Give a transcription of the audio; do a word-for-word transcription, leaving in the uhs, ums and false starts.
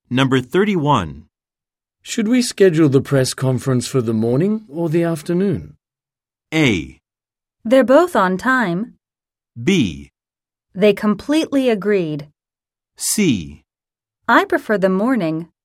Number thirty-one. Should we schedule the press conference for the morning or the afternoon? A. They're both on time. B. They completely agreed. C. I prefer the morning.